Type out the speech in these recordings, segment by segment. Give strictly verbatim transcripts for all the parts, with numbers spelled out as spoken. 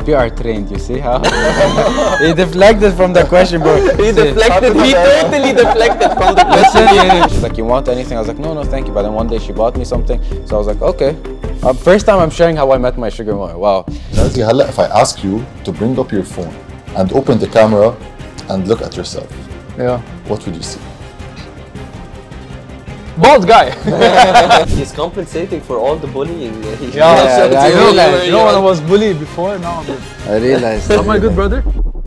P R trained, you see how? He deflected from the question, bro. He deflected, he totally deflected from the question. Listen, she's like, you want anything? I was like, no, no, thank you. But then one day she bought me something. So I was like, okay. Uh, first time I'm sharing how I met my sugar mama. Wow. Razi, هلا if I ask you to bring up your phone and open the camera and look at yourself, Yeah. what would you see? Bald guy. He's compensating for all the bullying. He Yeah, yeah, I you know, realized, you know when I was bullied before? Now I'm good. I realized. Am I good, brother?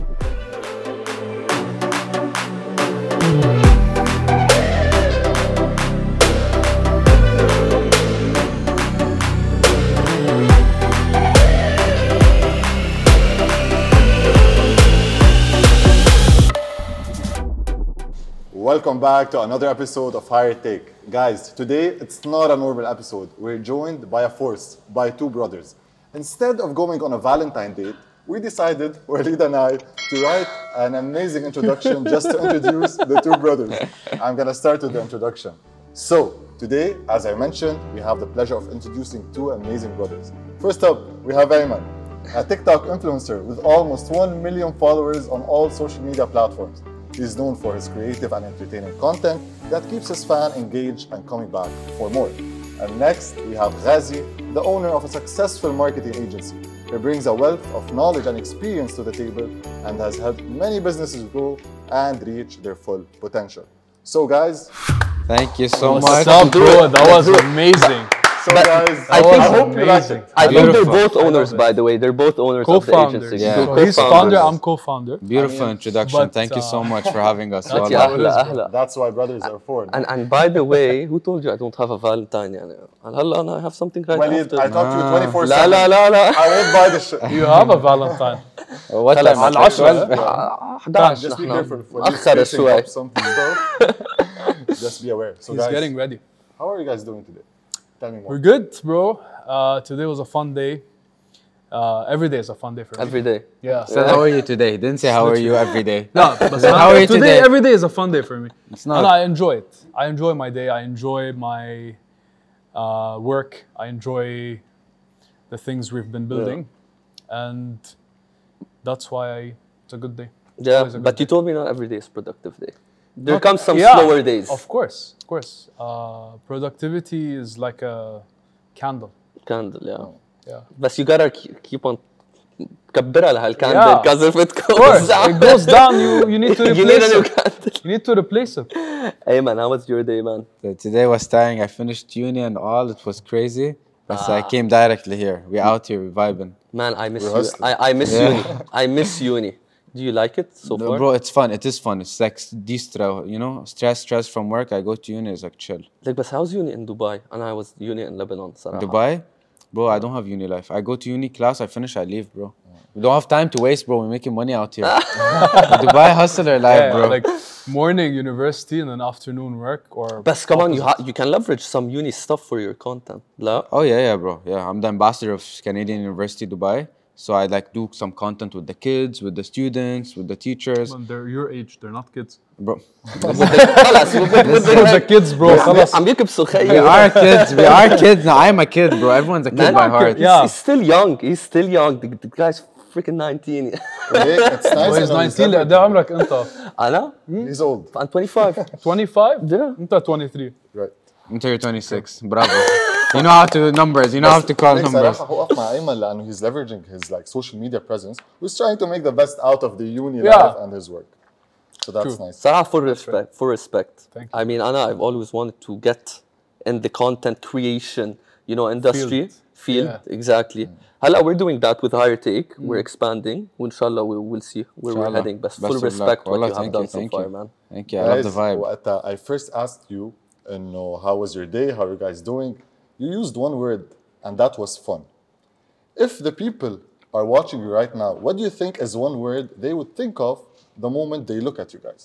Welcome back to another episode of Higher Take. Guys, today it's not a normal episode. We're joined by a force, by two brothers. Instead of going on a Valentine date, we decided, Walid and I, to write an amazing introduction just to introduce the two brothers. I'm gonna start with the introduction. So, today, as I mentioned, we have the pleasure of introducing two amazing brothers. First up, we have Ayman, a TikTok influencer with almost one million followers on all social media platforms. He's known for his creative and entertaining content that keeps his fan engaged and coming back for more. And next, we have Ghazi, the owner of a successful marketing agency. He brings a wealth of knowledge and experience to the table and has helped many businesses grow and reach their full potential. So guys, Thank you so What's much. up, bro? That was amazing. so guys, I That think- was hope you liked amazing. it. I think they're Beautiful. both owners, by the way. They're both owners of the Co-founders. agency. Yeah. So he's Co-founders. founder, I'm co-founder. Beautiful introduction. But, Thank you so uh, much for having us. That's Wallah. how it is, أهلا bro. أهلا. That's why brothers are for. And and by the way, who told you I don't have a Valentine? يعني هلا أنا I have something right Walid, after. I taught you twenty-four لا seven. لا لا لا. I won't buy the shit. You have a Valentine. What خلاص. time? على العشرة. أحد عشر Just be نحن careful for مأخر spacing شوي. up something stuff. Just be aware. So He's guys, getting ready. how are you guys doing today? Tell me more. We're good, bro. Uh, today was a fun day. Uh, every day is a fun day for me. Every day. Yeah. So how are you today? He didn't say how are you every day. No, but How are you today, today? every day is a fun day for me. It's not. And I enjoy it. I enjoy my day. I enjoy my uh, work. I enjoy the things we've been building. And that's why I, it's a good day. Yeah, Always a but good you told me not every day is productive day. There Not- comes some yeah, slower days. Of course, of course. Uh, productivity is like a candle. Candle, yeah. Yeah. بس you gotta keep keep on كبرها لهالكاندل Yeah. because if it Of course, goes down, it goes down. You you need to you need replace a new it. candle. You need to replace it. Hey man, how was your day, man? So today was tiring. I finished uni and all. It was crazy. But Ah. I came directly here. We out here. We vibing. Man, I miss We're you. hustling. I, I miss Yeah. uni. I miss uni. Do you like it so No, far? bro, it's fun. It is fun. It's like de-stress. You know, stress, stress from work. I go to uni. It's like chill. Like, but how's uni in Dubai? And I was uni in Lebanon. صراحة. Dubai, bro, I don't have uni life. I go to uni class. I finish. I leave, bro. We don't have time to waste, bro. We're making money out here. Dubai hustler life, Yeah, bro. like morning university and then afternoon work or. But come on, you ha- you can leverage some uni stuff for your content. لا? Oh yeah, yeah, bro. Yeah, I'm the ambassador of Canadian University Dubai. So I like do some content with the kids, with the students, with the teachers, When they're your age, they're not kids. bro. خلاص They're the kids, bro. خلاص. عم يكبسوا We خيي. are kids. We are kids. Now I'm a kid, bro. Everyone's a kid Man, by heart. he's, Yeah. he's still young. He's still young. The, the guy's freaking nineteen. Hey, it's nice. He's to know nineteen. leveraging. ده عمرك أنت. أنا He's old. I'm twenty-five. twenty-five. Yeah. أنت twenty-three. Right. Until you're twenty-six. Bravo. You know how to do numbers. You know how to call ليك numbers. صراحة هو وقف مع أيمن لأنه he's leveraging his like social media presence. He's trying to make the best out of the uni Yeah. life and his work. So that's True. nice. صراحة full respect. Full respect. Thank you. I mean, أنا I've always wanted to get in the content creation, you know, industry Field. field. Yeah. Exactly. هلا we're doing that with Higher Take. We're expanding. وإنشالله we will see where we're Inshallah. heading. But Best full of luck. respect what Wallah, you have thank done you, so thank far, you. man. Thank you. I love the vibe. وقتها I first asked you إنه how was your day? How are you guys doing? You used one word and that was fun. If the people are watching you right now, what do you think is one word they would think of the moment they look at you guys?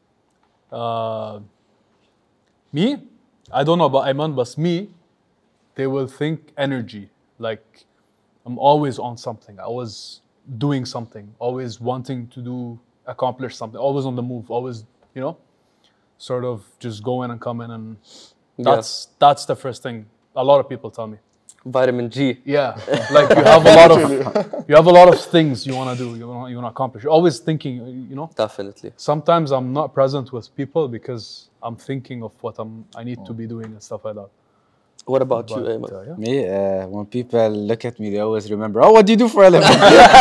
Uh, me, I don't know about Ayman, but me, they will think energy. Like I'm always on something. I was doing something. Always wanting to do, accomplish something. Always on the move. Always, you know, sort of just going and coming, and that's that's the first thing a lot of people tell me. Vitamin G. Yeah, like you have a lot of you have a lot of things you want to do, you want you want to accomplish. You're always thinking, you know. Definitely. Sometimes I'm not present with people because I'm thinking of what I'm I need to be doing and stuff like that. What about you, But, Ayman? uh, yeah. Me, uh, when people look at me, they always remember, oh, what do you do for a living?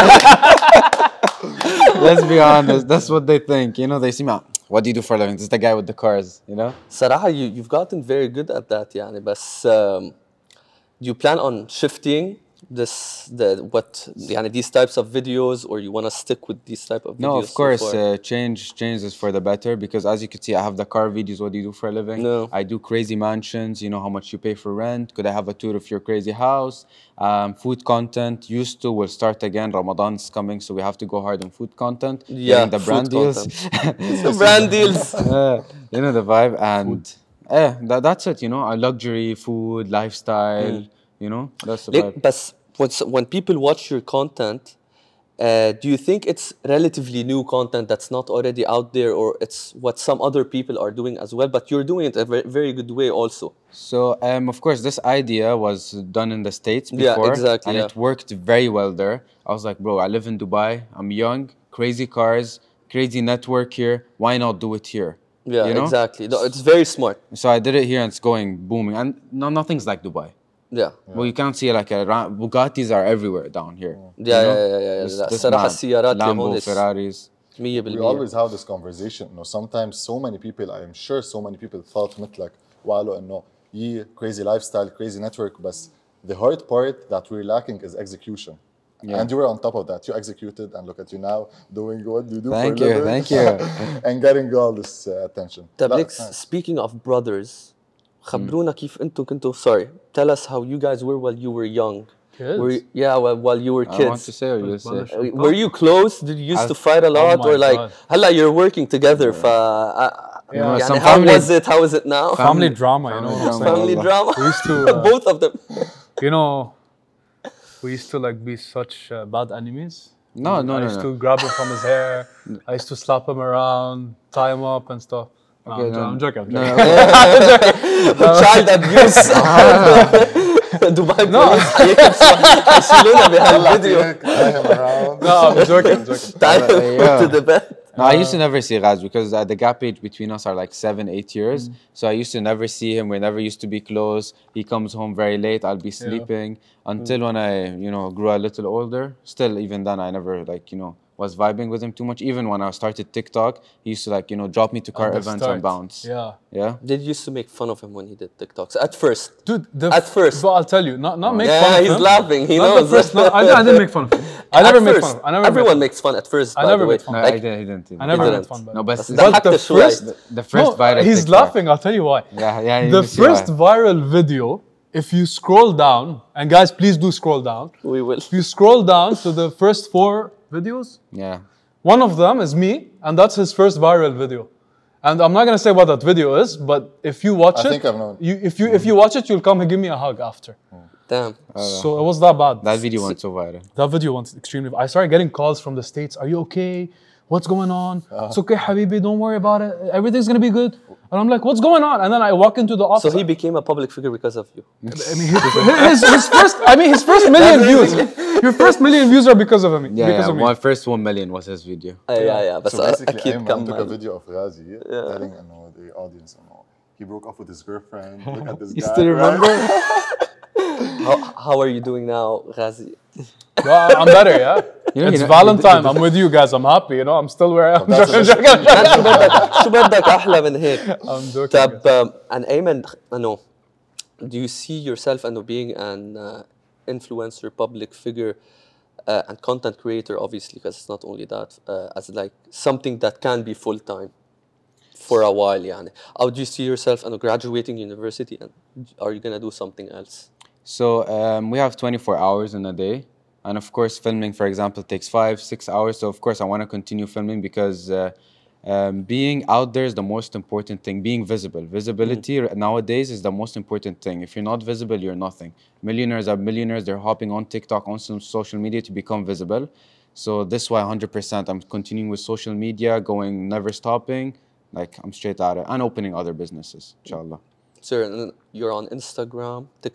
Let's be honest, that's what they think. You know, they see me, "Ah, what do you do for a living? This is the guy with the cars, you know? صراحة you, you've gotten very good at that يعني بس um, do you plan on shifting this the what يعني these types of videos or you want to stick with these type of videos? No, of so course, far? uh, change changes for the better because as you can see, I have the car videos. What do you do for a living? No. I do crazy mansions. You know how much you pay for rent. Could I have a tour of your crazy house? Um, food content used to will start again. Ramadan's coming, so we have to go hard on food content. Yeah, Getting the food brand deals. The brand deals. Uh, you know the vibe, and yeah, that, that's it. You know, our luxury food lifestyle. You know, that's the Like, vibe. but when, when people watch your content, uh, do you think it's relatively new content that's not already out there, or it's what some other people are doing as well, but you're doing it a very, very good way also? So, um, of course, this idea was done in the States Yeah, before. exactly, And yeah. it worked very well there. I was like, bro, I live in Dubai. I'm young, crazy cars, crazy network here. Why not do it here? Yeah, You know? exactly. No, it's very smart. So I did it here and it's going booming. And no, nothing's like Dubai. Yeah. Well, you can't see like a ra- Bugattis are everywhere down here. Yeah, you yeah, know? yeah, yeah, yeah. This- لا، this الصراحة mad. السيارات اللي Lambo, هون is Ferraris. مية We بالمية. always have this conversation. You know, sometimes so many people, I am sure so many people thought مثلك وقالوا إنه yeah, crazy lifestyle, crazy network, but the hard part that we're lacking is execution. Yeah. And you were on top of that. You executed, and look at you now doing what you do Thank for a you, living. thank you. and getting all this uh, attention. طب لا, ليك it's nice. speaking of brothers خبرونا كيف انتم كنتوا sorry tell us how you guys were while you were young. Kids? Were you- yeah while, while you were I want kids. to say or you say. Balash. Uh, Were you close? Did you used I- to fight a lot my or like God. هلا you're working together ف uh, You know, يعني some how family- was it? How is it now? Family drama, you know. family what I'm drama. saying? Family Allah. drama. We used to, uh, Both of them. You know, we used to like be such uh, bad enemies. No, no, I no, used no. to grab him from his hair. I used to slap him around, tie him up and stuff. No, Okay, I'm, jo- no. I'm joking. I'm No, joking. Child abuse. دبي بوليس حيشيلونا بهالفيديو. Tie him around. No, I'm joking. I'm joking. Time Yeah. to the bed. No, I used to never see Raz because uh, the gap age between us are like seven, eight years. So I used to never see him. We never used to be close. He comes home very late. I'll be sleeping until when I, you know, grew a little older. Still, even then, I never like, you know, was vibing with him too much. Even when I started TikTok, he used to like, you know, drop me to car At the events start. and bounce. Yeah. Yeah. Did you used to make fun of him when he did TikToks at first? Dude, the At first. But I'll tell you, not, not make fun Yeah, of he's him. laughing. He Not knows. the first, no, I, I didn't make fun of him. I At never make first, fun of him. I never Everyone made makes fun at first. I by never the way. make fun. No, Like, I, didn't, I didn't. I never didn't. made fun. By No, the but way. the, But But the the first- first, the first no, viral he's TikTok. laughing. I'll tell you why. Yeah, yeah. you The can see why. first viral video, if you scroll down, and guys, please do scroll down. we will. If you scroll down to the first four videos, Yeah. one of them is me, and that's his first viral video. And I'm not gonna say what that video is, but if you watch I it, think I've known. you if you if you watch it, you'll come and give me a hug after. Damn. So it was that bad. That video went so viral. That video went extremely. I started getting calls from the States. Are you okay? What's going on? It's okay, Habibi. Don't worry about it. Everything's gonna be good. And I'm like, what's going on? And then I walk into the office. So he became a public figure because of you. I mean, his, his, his first. I mean, his first million views. Your first million views are because of him. Yeah, because yeah. of me. My first one million was his video. Uh, yeah, yeah. بس So basically, أكيد Ayman took a كمل. video of Ghazi telling you know, the audience, you know, he broke up with his girlfriend. Look at this You guy. still right? remember? How, how are you doing now, Ghazi? Well, I'm better, yeah. You know, It's you know- Valentine. I'm with you guys. I'm happy. You know, I'm still where I am. That's Joking, a- joking, شو بدك شو بدك أحلى من هيك؟ I'm joking. طب um, and Ayman, I know, do you see yourself and being an uh, influencer, public figure, uh, and content creator, obviously, because it's not only that, uh, as like something that can be full time for a while, يعني. How do you see yourself and graduating university, and are you gonna do something else? So um, we have twenty-four hours in a day. And of course, filming, for example, takes five, six hours. So of course, I want to continue filming because uh, um, being out there is the most important thing. Being visible. Visibility r- nowadays is the most important thing. If you're not visible, you're nothing. Millionaires are millionaires. They're hopping on TikTok, on some social media to become visible. So this is why one hundred percent I'm continuing with social media, going, never stopping. Like, I'm straight at it. And opening other businesses, inshallah. Sir, and you're on Instagram, TikTok.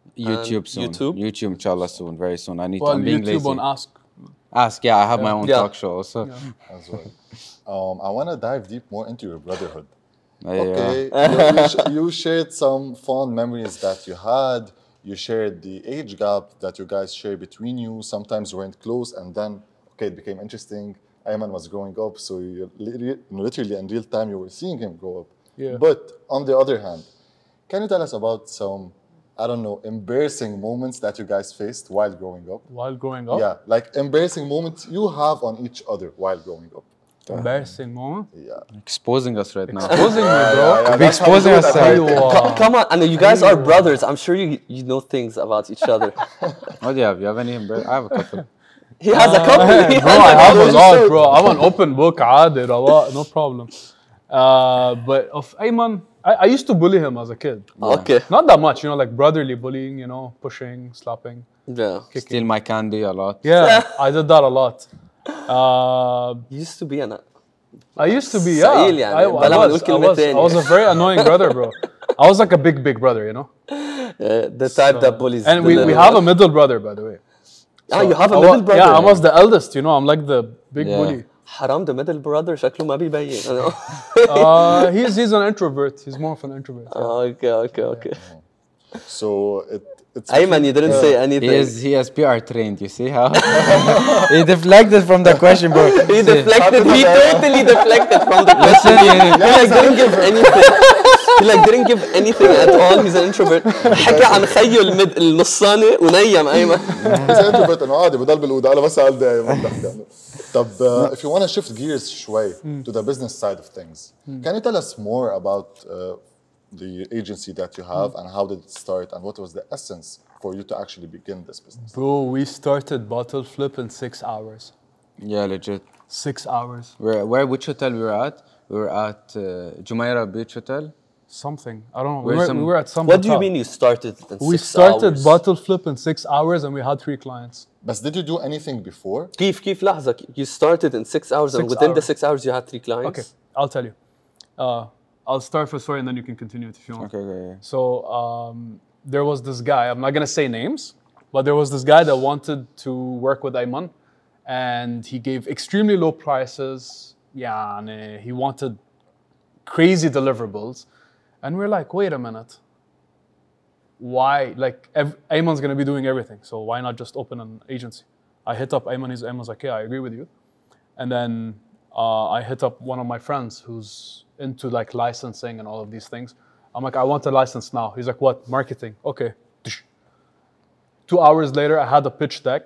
YouTube And soon. YouTube? YouTube, inshallah, soon. Very soon. I need Well, to. I'm being YouTube lazy. on Ask. Ask. Yeah, I have my own Yeah. talk show also. as well. Um, I want to dive deep more into your brotherhood. Yeah. Okay, you, you, sh- you shared some fond memories that you had. You shared the age gap that you guys share between you. Sometimes you weren't close, and then okay, it became interesting. Ayman was growing up, so you li- literally in real time you were seeing him grow up. Yeah. But on the other hand, can you tell us about some, I don't know, embarrassing moments that you guys faced while growing up? While growing up. Yeah, like embarrassing moments you have on each other while growing up. Embarrassing moment. Yeah. Exposing us right now. Exposing me, bro. Yeah, Be that's how we exposing do it at ourselves. Higher Take. Co- come on, and you guys are brothers. I'm sure you you know things about each other. What do you have? You have any? embra- I have a couple. He has a couple. He Bro, has I have a couple. lot, bro. I'm an open book, عادي, رواق, no problem. Uh, but of Ayman, I, I used to bully him as a kid. Okay. Not that much, you know, like brotherly bullying, you know, pushing, slapping. Yeah. Steal my candy a lot. Yeah, I did that a lot. Uh, You used to be an. I used to be, yeah. سعيل يعني. I, I, بلا ما نقول was, I, كلمة was, I تانية. was a very annoying brother, bro. I was like a big, big brother, you know? Uh, the type that bullies. And the we, we little have a one. middle brother, by the way. Ah, you have a I wa- middle brother. Yeah, I was the eldest, you know, I'm like the big Yeah. bully. حرام the middle brother شكله ما بيبين. Uh, he's, he's an introvert. He's more of an introvert. yeah. Okay, okay, okay. So it, it's Ayman, you didn't say anything. He is he is P R trained. You see how he deflected from the question, bro. He See, deflected. He totally deflected from the question. Listen, He like didn't give anything. He like didn't give anything at all. He's an introvert. حكى عن خيه المد النصاني ونيم أيمن. He's an introvert انه عادي بضل بالاوضه انا بس قال دقايق ما بحكي عنه. طب uh, if you want to shift gears شوي to the business side of things, can you tell us more about uh, the agency that you have and how did it start and what was the essence for you to actually begin this business? Bro, we started bottle flip in six hours. yeah, legit. Six hours. Where where which hotel we were at? We were at uh, Jumeirah Beach Hotel. Something. I don't know. We Where's were, some- we were at some What do you hotel. mean you started in We six started hours? bottle flip in six hours and we had three clients. But did you do anything before? كيف كيف لحظة you started in six hours and Six within the hours. six hours you had three clients? Okay, I'll tell you. Uh, I'll start for story and then you can continue it if you want. Okay, okay, okay. So um, there was this guy, I'm not gonna say names, but there was this guy that wanted to work with Ayman and he gave extremely low prices. Yeah, and he wanted crazy deliverables. And we're like, wait a minute. Why? Like, ev- Ayman's gonna be doing everything, so why not just open an agency? I hit up Ayman, he's Ayman's like, yeah, I agree with you. And then uh, I hit up one of my friends who's into like licensing and all of these things. I'm like, I want a license now. He's like, what? Marketing. Okay. Two hours later, I had a pitch deck.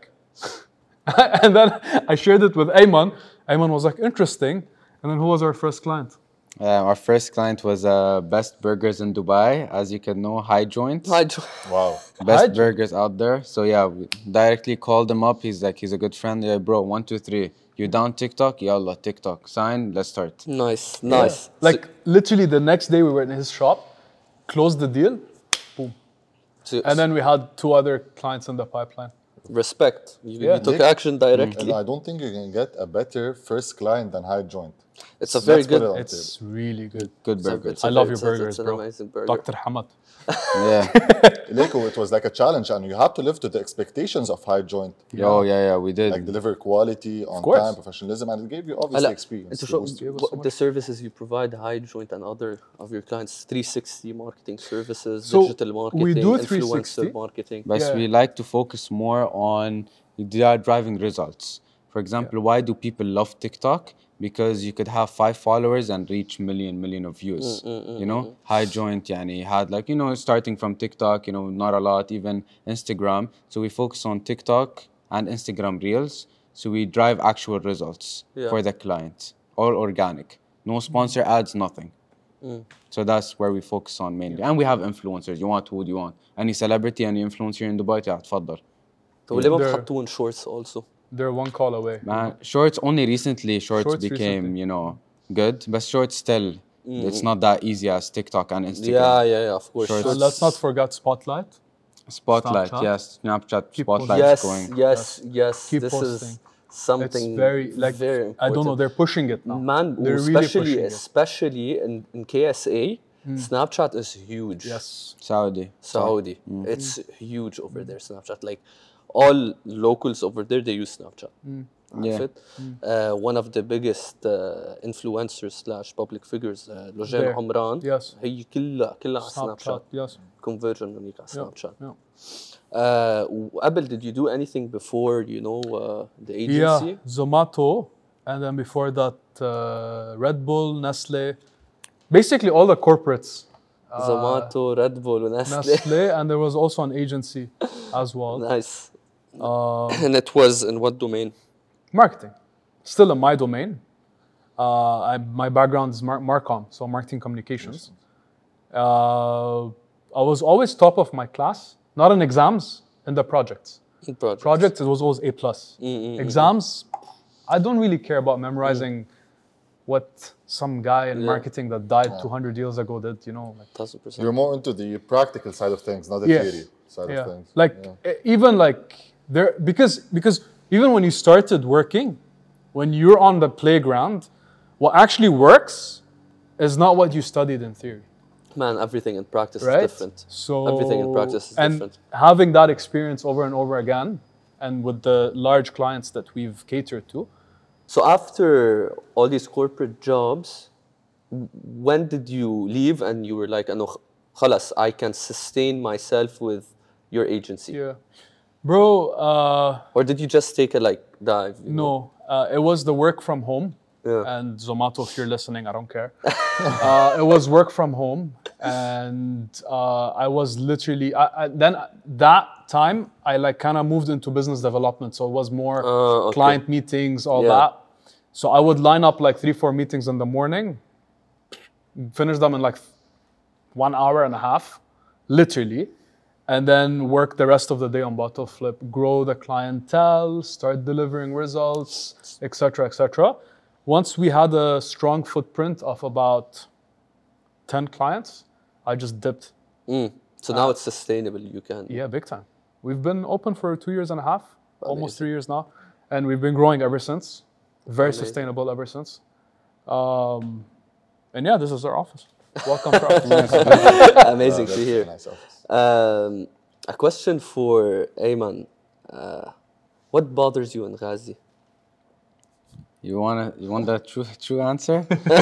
And then I shared it with Ayman. Ayman was like, interesting. And then who was our first client? Uh, our first client was uh, Best Burgers in Dubai, as you can know, High Joint. I jo- Wow. Best High burgers out there. So yeah, we directly called him up. He's like, he's a good friend. Yeah, bro, one, two, three. You down TikTok? Yallah, TikTok. Sign. Let's start. Nice, nice. Like literally the next day we were in his shop, closed the deal, boom. So, And then we had two other clients in the pipeline. respect. You, Yeah. you took Nick? action directly. And I don't think you can get a better first client than High Joint. It's a very Let's put good. it on the It's really good. Good It's a- burgers. it's a I love very- your it's a- burgers, it's an bro. amazing burger. Doctor Hamad. Yeah. Leko, it was like a challenge and you have to live to the expectations of High Joint. Oh, yeah, yeah, we did. Like deliver quality on course. time, professionalism, and it gave you obviously هلا experience. انتوا to شو boost you. us what- so much. the services you provide, High Joint and other of your clients, three sixty marketing services, So, digital marketing, we do influencer three sixty. marketing. But Yeah. we like to focus more on they are driving results. For example, why do people love TikTok? Because you could have five followers and reach million, million of views. You know, High Joint, yani, had like, you know, starting from TikTok, you know, not a lot, even Instagram. So we focus on TikTok and Instagram Reels. So we drive actual results Yeah. for the client, all organic. No sponsor ads, nothing. So that's where we focus on mainly. And we have influencers. You want who do you want? Any celebrity, any influencer in Dubai, yeah, تفضل. طب ليه ما They're- بتحطوهم shorts also? They're one call away. Man, shorts only recently. Shorts, Shorts became, recently. you know, good, but shorts still, it's not that easy as TikTok and Instagram. Yeah, yeah, yeah, of course. Shorts. So let's not forget Spotlight. Spotlight, Snapchat. yes, Snapchat Keep Spotlight Yes, is going. yes, yes. Keep this posting. is something It's very like very I don't know. important. They're pushing it now. Man, they're really especially pushing it. especially in, in K S A, Snapchat is huge. Yes. Saudi. Saudi. It's huge over there, Snapchat. Like all locals over there, they use Snapchat. Yeah. عرفت؟ Uh, one of the biggest uh, influencers slash public figures uh, لوجين There. عمران Yes. هي كلها كلها على سناب Snapchat. شات Yes. conversion هنيك على Yeah. سناب شات. Yeah. Uh, وقبل did you do anything before you know uh, the Yeah. agency? Zomato, and then before that, uh, Red Bull, Nestle, basically all the corporates. Uh, Zomato, Red Bull ونسلي. Nestle, and there was also an agency as well. Nice. Uh, And it was in what domain? marketing, still in my domain. Uh, I, my background is mar- Marcom, so marketing communications. Uh, I was always top of my class, not in exams, in the projects. Project. Projects, it was always A plus. Exams, I don't really care about memorizing what some guy in Yeah. marketing that died two hundred years ago did. You know, like, thousand percent. You're more into the practical side of things, not the Yeah. theory side yeah, of things. like Yeah. e- even like there because because even when you started working, when you're on the playground, what actually works is not what you studied in theory. Man, everything in practice Right? is different. So Everything in practice is and different. having that experience over and over again, and with the large clients that we've catered to, So after all these corporate jobs, w- when did you leave and you were like, "أنا خلاص, I can sustain myself with your agency"? yeah, bro. Uh, Or did you just take a like dive? you know? no, uh, it was the work from home. Yeah. And Zomato, if you're listening, I don't care. uh, it was work from home, and uh, I was literally I, I, then that time I like kind of moved into business development, so it was more Uh, okay. client meetings, all Yeah. that. So I would line up like three, four meetings in the morning, finish them in like one hour and a half, literally, and then work the rest of the day on bottle flip, grow the clientele, start delivering results, et cetera, et cetera. Once we had a strong footprint of about ten clients, I just dipped. Mm. So now it's sustainable. You can. Yeah, big time. We've been open for two years and a half, almost Amazing. three years now, and we've been growing ever since. Very Amazing. sustainable ever since. Um, and yeah, this is our office. Welcome to our office. Amazing Yeah, to that's hear. a nice office. Um, a question for Ayman. Uh, what bothers you in Ghazi? You wanna you want the true true answer?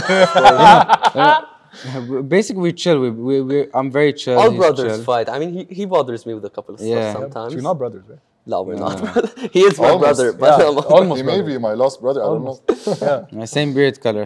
Yeah. Basically, we chill. We we, we I'm very chill. All he's brothers chill. fight. I mean, he, he bothers me with a couple of stuff Yeah. sometimes. You're not brothers, right? No, we're not. He is my Almost. brother, but Yeah, I'm almost He may brothers. be my lost brother. I don't know. Yeah. My same beard color.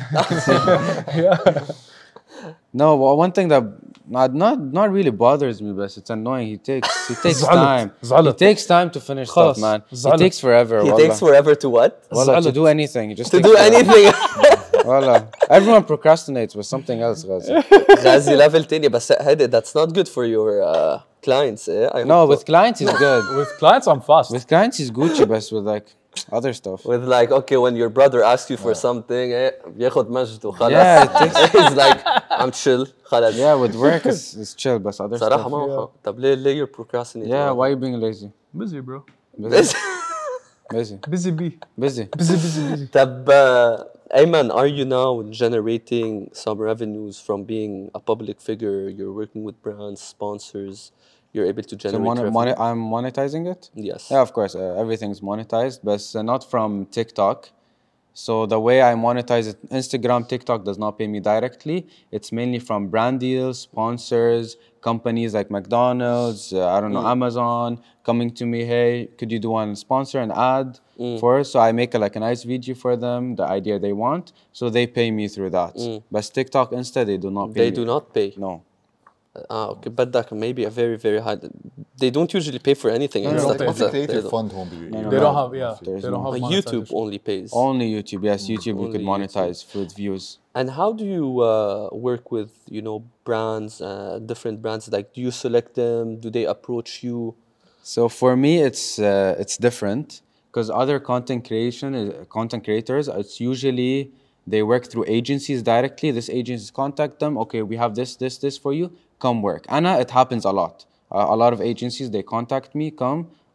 yeah. No, well, one thing that not not not really bothers me, but it's annoying. He takes he takes زعلت. time. He زعلت. takes time to finish خلاص. stuff, man. زعلت. He takes forever. he wallah. takes forever to what? Wallah, to زعلت. do anything. He just To takes do forever. anything. Wallah. Everyone procrastinates with something else, Ghazi. Ghazi level تاني بس هذا that's not good for your uh, clients. Eh? I No, hope with clients he's good. With clients, I'm fast. With clients he's Gucci, but with like other stuff. with like okay when your brother asks you for something eh, بياخد مجد وخلاص. Yeah, it takes- He's like I'm chill خلاص. Yeah, with work it's, it's chill, but other صراحة stuff. ما هو طب ليه ليه you're procrastinating? Yeah, why you being lazy? Busy, bro. Busy. Busy. Busy bee. Busy. Busy, busy, busy. طب uh, Ayman, are you now generating some revenues from being a public figure? You're working with brands, sponsors. You're able to So generate mon- revenue. mon- I'm monetizing it? Yes. Yeah, of course. Uh, everything's monetized, but uh, not from TikTok. So the way I monetize it, Instagram, TikTok does not pay me directly. It's mainly from brand deals, sponsors, companies like McDonald's, uh, I don't know, Amazon coming to me, hey, could you do one sponsor an ad for us? So I make a, like a nice video for them, the idea they want. So they pay me through that. But TikTok, Insta, they do not pay They me. do not pay. No. Ah, okay, but that maybe a very, very high. They don't usually pay for anything. no, It's no, like they What's it's the a- they creative don't. fund home be? no, They no. don't have, yeah. There's They don't no- have Uh, YouTube monetization. only pays. Only YouTube, yes. YouTube we could Only monetize with views. And how do you uh, work with you know brands, uh, different brands? Like, do you select them? Do they approach you? So for me, it's uh, it's different because other content creation is, content creators. It's usually they work through agencies directly. This agencies contact them. Okay, we have this, this, this for you. Come work. Anna, it happens a lot. Uh, a lot of agencies they contact me, come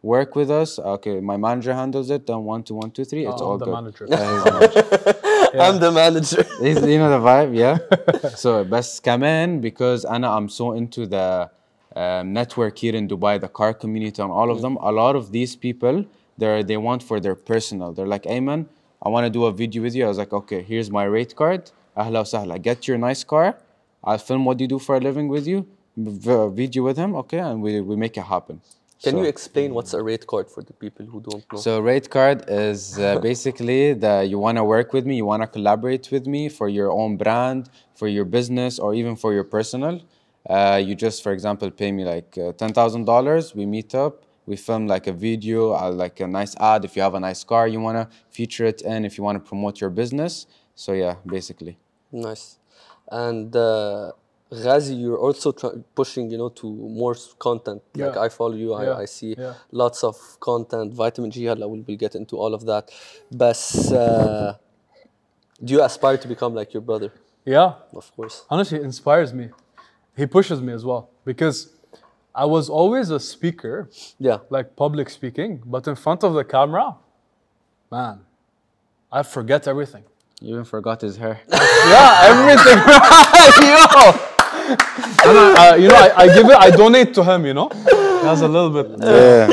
work with us. Okay, my manager handles it. Then one, two, one, two, three. It's Oh, all I'm the good. manager. Yeah, he's the manager. I'm the manager. Is- you know the vibe, yeah. So بس كمان because أنا I'm so into the um, network here in Dubai, the car community and all of them. A lot of these people, they they want for their personal. They're like, Ayman, I want to do a video with you. I was like, okay, here's my rate card. أهلا وسهلا. Get your nice car. I'll film what you do for a living with you. v- Video with him, okay, and we we make it happen. Can So- you explain what's a rate card for the people who don't know? So rate card is uh, basically that you want to work with me, you want to collaborate with me for your own brand, for your business, or even for your personal. Uh, you just, for example, pay me like uh, ten thousand dollars. We meet up, we film like a video, uh, like a nice ad. If you have a nice car, you want to feature it in. If you want to promote your business. So yeah, basically. Nice. And uh, Ghazi, you're also try- pushing, you know, to more s- content. Like Yeah. I follow you, I, Yeah. I see Yeah. lots of content. Vitamin G, هلا we'll, we'll get into all of that. But uh, do you aspire to become like your brother? Yeah. Of course. Honestly, it inspires me. He pushes me as well because I was always a speaker, Yeah. like public speaking, but in front of the camera, man, I forget everything. You even forgot his hair. Yeah, everything. Yo, And I- uh, you know, I, I give it, I donate to him. You know, he has a little bit. Yeah.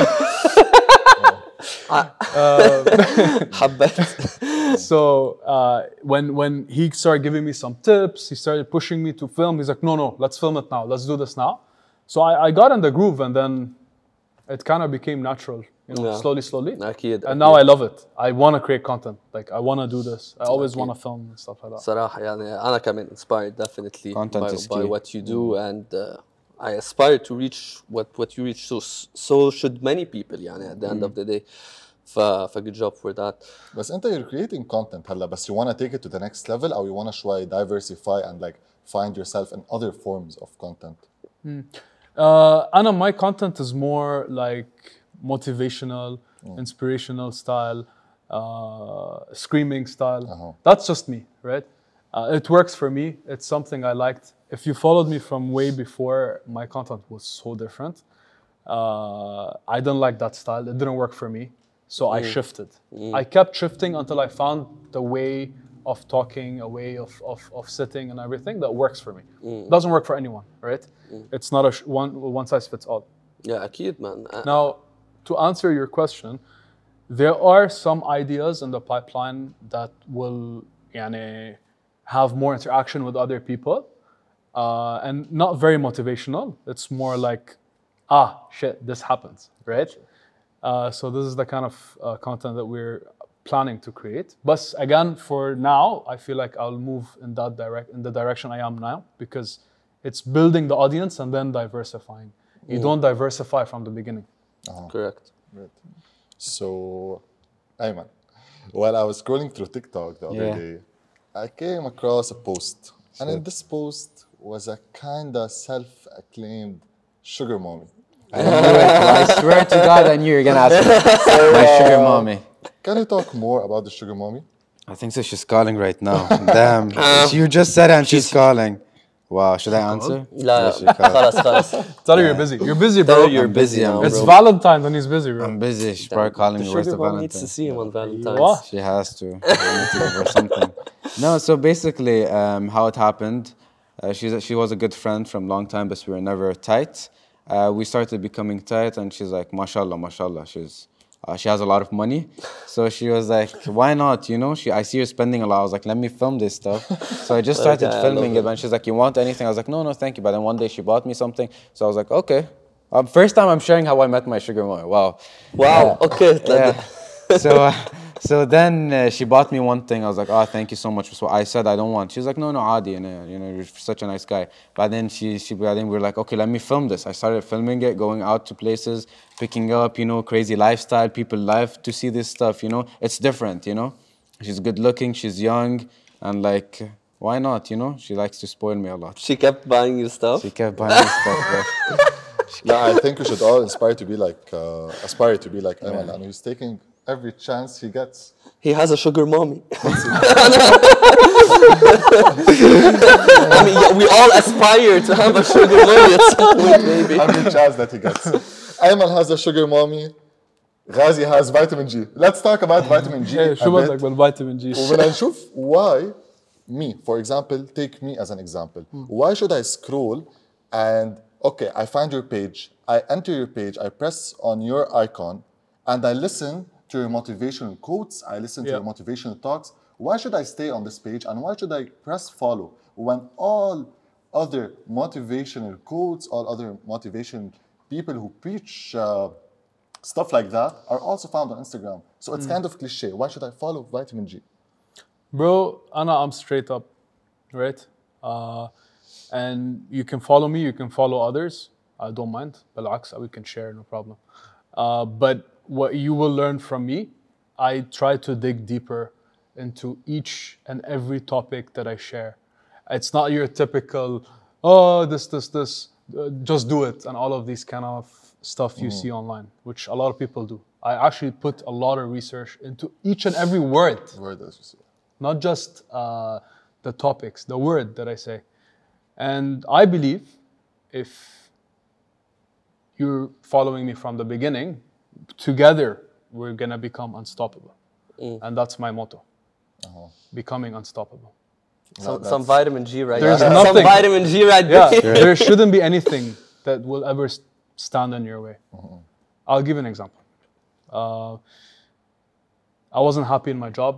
حبيت. So uh, when when he started giving me some tips, he started pushing me to film. He's like, no, no, let's film it now. Let's do this now. So I, I got in the groove, and then it kind of became natural. You know, Yeah. slowly, slowly. أكيد. And now I love it. I want to create content. Like I want to do this. I always want to film and stuff like that. صراحة يعني أنا كمان inspired definitely Content by, is by key. what you do and uh, I aspire to reach what what you reach. So so should many people يعني at the end of the day. ف ف good job for that. بس انت you're creating content هلا بس you want to take it to the next level or you want to شوي diversify and like find yourself in other forms of content. Uh, Anna, my content is more like motivational, inspirational style, uh, screaming style. Uh-huh. That's just me, right? Uh, it works for me. It's something I liked. If you followed me from way before, my content was so different. Uh, I didn't like that style. It didn't work for me. So I shifted. I kept shifting until I found the way of talking, a way of, of, of sitting and everything that works for me. Doesn't work for anyone, right? It's not a sh- one, one size fits all. Yeah, أكيد man. Uh, Now, to answer your question, there are some ideas in the pipeline that will يعني, have more interaction with other people uh, and not very motivational. It's more like, ah, shit, this happens, right? Uh, so this is the kind of uh, content that we're planning to create. But again, for now, I feel like I'll move in that direct in the direction I am now because it's building the audience and then diversifying. You don't diversify from the beginning. correct. Right. So, Ayman, while I was scrolling through TikTok the other Yeah. day, I came across a post. And in this post was a kind of self-acclaimed sugar mommy. I knew it. I swear to God, I knew you were gonna ask me. My sugar mommy. Can you talk more about the sugar mommy? I think so. She's calling right now. Damn. you just said it and she's calling. Wow. Should I answer? لا Yeah, she called. خلاص خلاص. Tell her you're busy. You're busy, Tell her bro. you're I'm busy, busy I'm now, busy. It's bro. Valentine's and he's busy, bro. I'm busy. She's probably calling The me. Where's the sugar mom needs to Valentine? see him on Valentine's. What? She has to. I need to give her something. No, so basically, um, how it happened, uh, she's a, she was a good friend from long time, but we were never tight. Uh, we started becoming tight, and she's like, mashallah, mashallah. She's uh, she has a lot of money, so she was like, why not? You know, she I see her spending a lot. I was like, let me film this stuff. So I just started Okay, I filming love it, and she's like, you want anything? I was like, no, no, thank you. But then one day she bought me something, so I was like, okay. Um, first time I'm sharing how I met my sugar mommy. Wow. Wow. Okay. Yeah. so uh, so then uh, she bought me one thing. I was like, oh, thank you so much. So I said I don't want. She was like, no, no, Adi, you know, you know, you're such a nice guy. But then she, she, but then we were like, okay, let me film this. I started filming it, going out to places, picking up, you know, crazy lifestyle. People love to see this stuff. You know, it's different. You know, she's good looking, she's young, and like, why not? You know, she likes to spoil me a lot. She kept buying you stuff. She kept buying me stuff. Bro. No, I think we should all inspire to be like, uh, aspire to be like Ayman, and he's taking every chance he gets. He has a sugar mommy. I mean, yeah, we all aspire to have a sugar mommy at some point, maybe. Every chance that he gets. Ayman has a sugar mommy. Ghazi has vitamin G. Let's talk about vitamin G. إيه a شو bit. بدك بالفيتامين جي؟ وبدنا نشوف why me, for example, take me as an example. Why should I scroll and, okay, I find your page, I enter your page, I press on your icon, and I listen to your motivational quotes, I listen to Yeah. your motivational talks. Why should I stay on this page and why should I press follow when all other motivational quotes, all other motivation people who preach uh, stuff like that are also found on Instagram. So it's kind of cliche. Why should I follow vitamin G? Bro, Anna, I'm straight up, right? Uh, and you can follow me, you can follow others. I don't mind. بالعكس, we can share, no problem. Uh, but what you will learn from me, I try to dig deeper into each and every topic that I share. It's not your typical, oh, this, this, this, uh, just do it, and all of these kind of stuff you see online, which a lot of people do. I actually put a lot of research into each and every word. Word as you say. Not just uh, the topics, the word that I say. And I believe if you're following me from the beginning, together we're gonna become unstoppable. And that's my motto, becoming unstoppable. Some, that's- some vitamin G right There's there. nothing- Some vitamin G right Yeah, there. there shouldn't be anything that will ever s- stand in your way. I'll give an example. Uh, I wasn't happy in my job.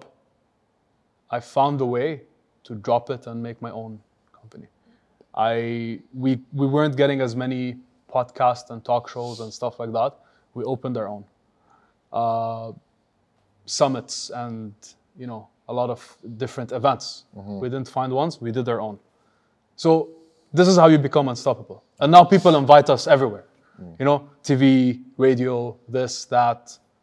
I found a way to drop it and make my own company. I we we weren't getting as many podcasts and talk shows and stuff like that. We opened our own uh, summits and you know a lot of different events. We didn't find ones. We did our own. So this is how you become unstoppable. And now people invite us everywhere. You know, T V, radio, this, that.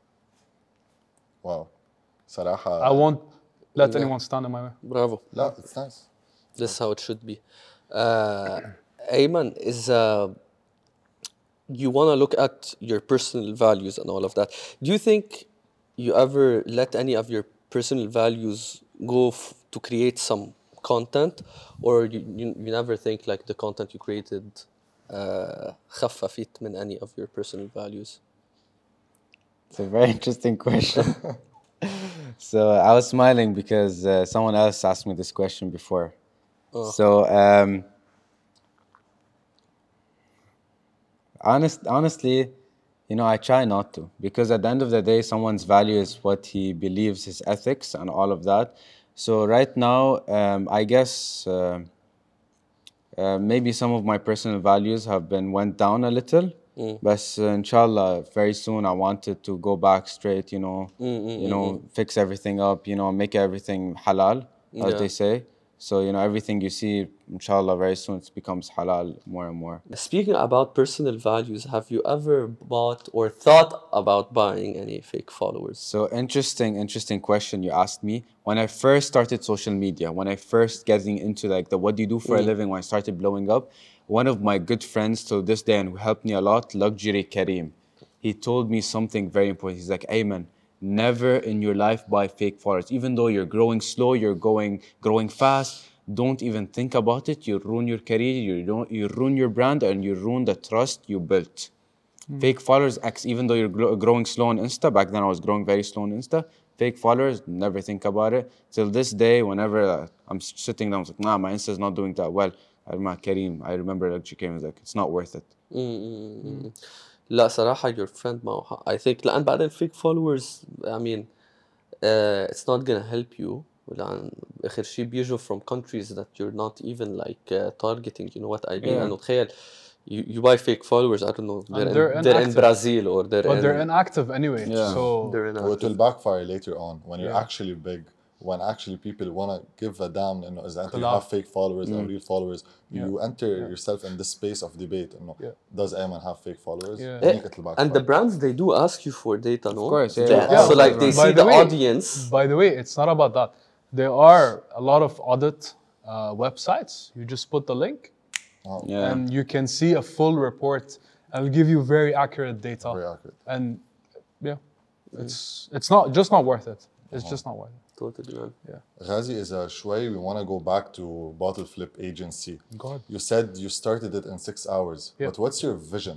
Wow. صراحة. I won't let Yeah. anyone stand in my way. Bravo. لا, it's nice. This is how it should be. Uh, Ayman, is uh, you want to look at your personal values and all of that. Do you think you ever let any of your personal values go f- to create some content, or you, you, you never think like the content you created uh, خففت من any of your personal values? It's a very interesting question. So I was smiling because uh, someone else asked me this question before. So um, honest, honestly, you know, I try not to because at the end of the day, someone's value is what he believes, his ethics, and all of that. So right now, um, I guess uh, uh, maybe some of my personal values have been went down a little. But uh, inshallah, very soon I wanted to go back straight, you know, you know, fix everything up, you know, make everything halal, as Yeah. they say. So, you know, everything you see, inshallah, very soon it becomes halal more and more. Speaking about personal values, have you ever bought or thought about buying any fake followers? So interesting, interesting question you asked me. When I first started social media, when I first getting into like the what do you do for a living, when I started blowing up, one of my good friends to this day and who helped me a lot, Luxury Kareem, he told me something very important. He's like, Ayman, never in your life buy fake followers. Even though you're growing slow, you're going growing fast, don't even think about it. You ruin your career, you don't, you ruin your brand, and you ruin the trust you built. Fake followers, ex- even though you're gro- growing slow on Insta, back then I was growing very slow on Insta, fake followers, never think about it. Till this day, whenever uh, I'm s- sitting down, I was like, nah, my Insta's not doing that well. I remember Kareem, I remember like Kareem was like, it's not worth it. لا صراحة your friend معه حق. I think لأن بعدين fake followers I mean uh, it's not gonna help you لأن آخر شيء بيجوا from countries that you're not even like uh, targeting, you know what I mean. Yeah. أنه تخيل you, you buy fake followers, I don't know, they're, they're in, they're in inactive. Brazil or they're But in, they're inactive anyway. Yeah. So they're in Or it will backfire later on when you're Yeah. actually big, when actually people want to give a damn and is that you Collab. have fake followers or real followers. You enter Yeah. yourself in this space of debate. You know, Yeah. does Ayman have fake followers? Yeah. I think it'll backfire. and the brands they do ask you for data, no? Of course, yeah. They- Yeah. So like they By see the the, way- audience. By the way, it's not about that. There are a lot of audit uh, websites. You just put the link Yeah. and you can see a full report. I'll give you very accurate data. Very accurate. And yeah, it's it's not just not worth it. It's just not worth it. Totally, man. Ghazi is a shway. We want to go back to Bottle Flip Agency. God. You said you started it in six hours. Yeah. But what's your vision?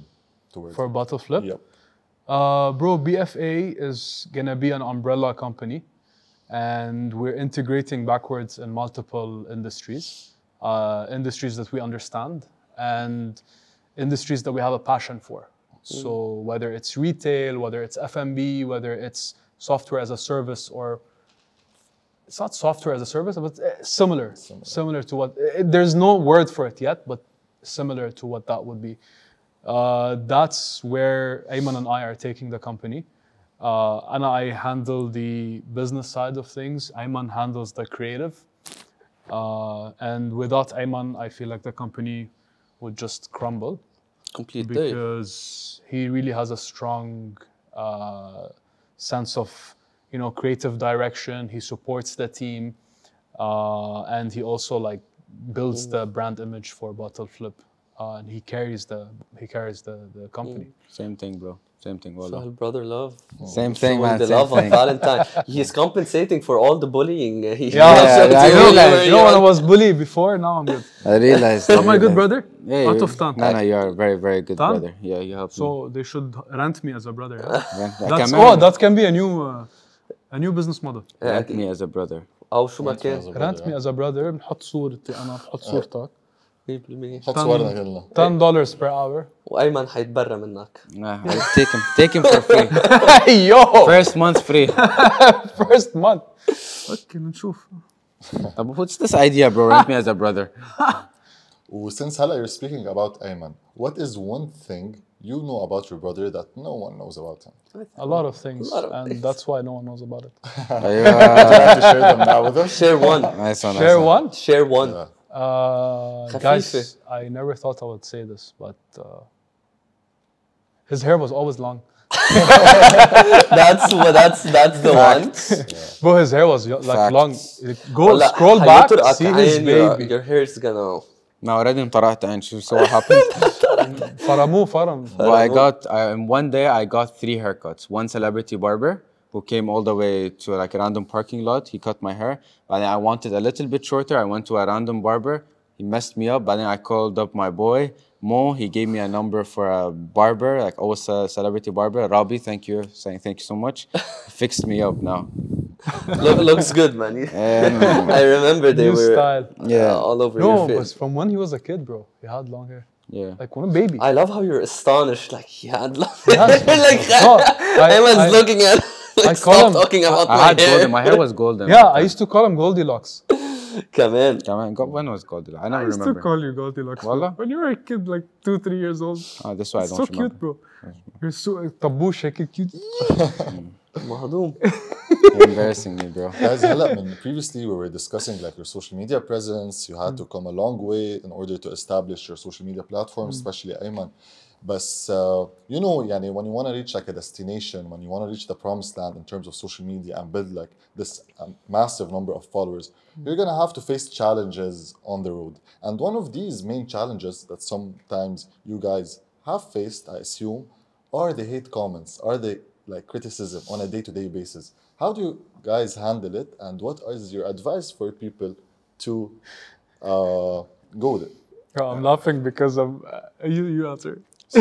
towards For it? Bottle Flip? Yep. Uh, bro, B F A is gonna be an umbrella company, and we're integrating backwards in multiple industries, uh, industries that we understand, and industries that we have a passion for. So whether it's retail, whether it's F and B, whether it's software as a service, or it's not software as a service, but uh, similar, similar, similar to what. Uh, there's no word for it yet, but similar to what that would be. Uh, that's where Ayman and I are taking the company. Uh, and I handle the business side of things. Ayman handles the creative. Uh, and without Ayman, I feel like the company would just crumble Complete day. because he really has a strong uh, sense of, you know, creative direction. He supports the team, uh, and he also like builds the brand image for Bottle Flip. Uh, and he carries the he carries the, the company. Same thing, bro. Same thing, wallah. Sahel brother love. Same thing, Showing man. the Same love thing. on Valentine. He's compensating for all the bullying. uh, He Yeah, showed yeah, I you realized. whenever You know, when I you- was bullied before, now I'm good. I realized. Am I good, realized. brother? Yeah, Out you- of ten. No, no, you are a very, very good Ten? brother. Yeah, you helped me. So they should rent me as a brother. Yeah? Rent- That's, كمان oh, that can be a new uh, a new business model. rent me as a brother. أو شو ما كان Rent me as a brother. بنحط صورتي أنا بحط صورتك. مية بالمية. حط صورنا كلنا. ten dollars per hour. وأيمن حيتبرى منك. Nah, I'll take him. Take him for free. Hey yo! First month free. First month. اوكي بنشوف. طب what's this idea, bro? Rent me as a brother. Since هلا you're speaking about Ayman, what is one thing you know about your brother that no one knows about him? A lot of things, lot of and things. that's why no one knows about it. أيوة. Have to share them now with us. Share one. Nice one. Share nice one. Share one. Yeah. Uh, خفيفة. guys, I never thought I would say this, but uh, his hair was always long. That's what. That's that's the one. Bro, his hair was yo- like Facts. long. Go والله scroll back, حيطرقك see his عين, your, baby. your hair is gonna. No, already انطرحت عين. So so what happened? فرموه فرم. Well, I got I, in one day I got three haircuts. One celebrity barber who came all the way to like a random parking lot. He cut my hair, but then I wanted a little bit shorter. I went to a random barber. He messed me up, but then I called up my boy Mo. He gave me a number for a barber, like also a celebrity barber. Rabi, thank you, saying thank you so much. He fixed me up now. Look, looks good, man. Um, I remember they New were style. yeah, uh, all over No, your but face. from when he was a kid, bro, he had long hair. yeah. Like when a baby. I love how you're astonished. Like he had long has- like No, I- Ayman's I- looking at. Like, I call stop him- talking about I my had hair. golden. My hair was golden. Yeah, I used to call him Goldilocks. كمان. Come on, go- when was golden? I I never used remember. to call you Goldilocks. bro. Wallah? When you were a kid, like two, three years old. Oh, this why I It's don't so remember. cute, bro. You're so طبوش هيك cute. مهضوم. You're embarrassing me, bro. Guys, هلا من previously we were discussing like your social media presence. You had to come a long way in order to establish your social media platform, especially Ayman. But uh, you know, يعني, when you want to reach like a destination, when you want to reach the promised land in terms of social media and build like this um, massive number of followers, you're gonna have to face challenges on the road. And one of these main challenges that sometimes you guys have faced, I assume, are the hate comments, are the like criticism on a day-to-day basis. How do you guys handle it, and what is your advice for people to uh, go with it? Bro, I'm laughing because I'm. Uh, you, you answer. So,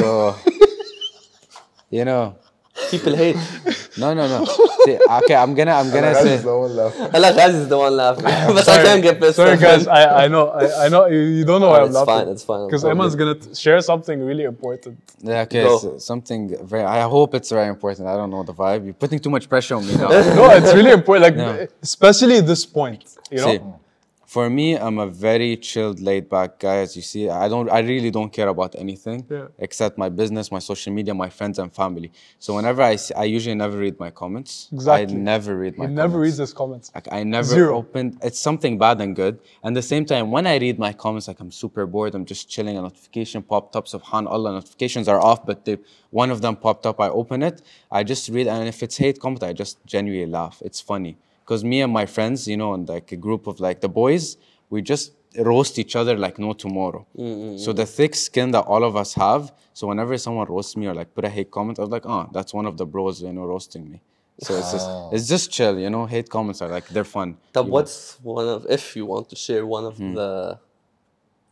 you know, People hate. no, no, no. See, okay, I'm gonna, I'm gonna say. هلا Ghazi is the one laughing. But I can't get pissed Sorry, off. guys. I, I know. I, I know. You, you don't know why I'm It's laughing. fine. It's fine. Because I'm Ayman's good. gonna t- share something really important. Yeah, okay, Go. so something very. I hope it's very important. I don't know the vibe. You're putting too much pressure on me now. No, it's really important. Like, Yeah. especially this point. You know. See, for me, I'm a very chilled, laid-back guy. As you see, I don't, I really don't care about anything Yeah. except my business, my social media, my friends and family. So whenever I see, I usually never read my comments. Exactly. I never read my. He comments. never reads his comments. Like I never Zero. opened. It's something bad and good. And the same time, when I read my comments, like I'm super bored. I'm just chilling. A notification popped up. Subhanallah, notifications are off, but they, one of them popped up. I open it. I just read, and if it's hate comment, I just genuinely laugh. It's funny because me and my friends, you know, and like a group of like the boys, we just roast each other like no tomorrow. So the thick skin that all of us have. So whenever someone roasts me or like put a hate comment, I was like, oh, that's one of the bros, you know, roasting me. So it's just, it's just chill, you know. Hate comments are like they're fun. طب You- what's one of, if you want to share one of Hmm. the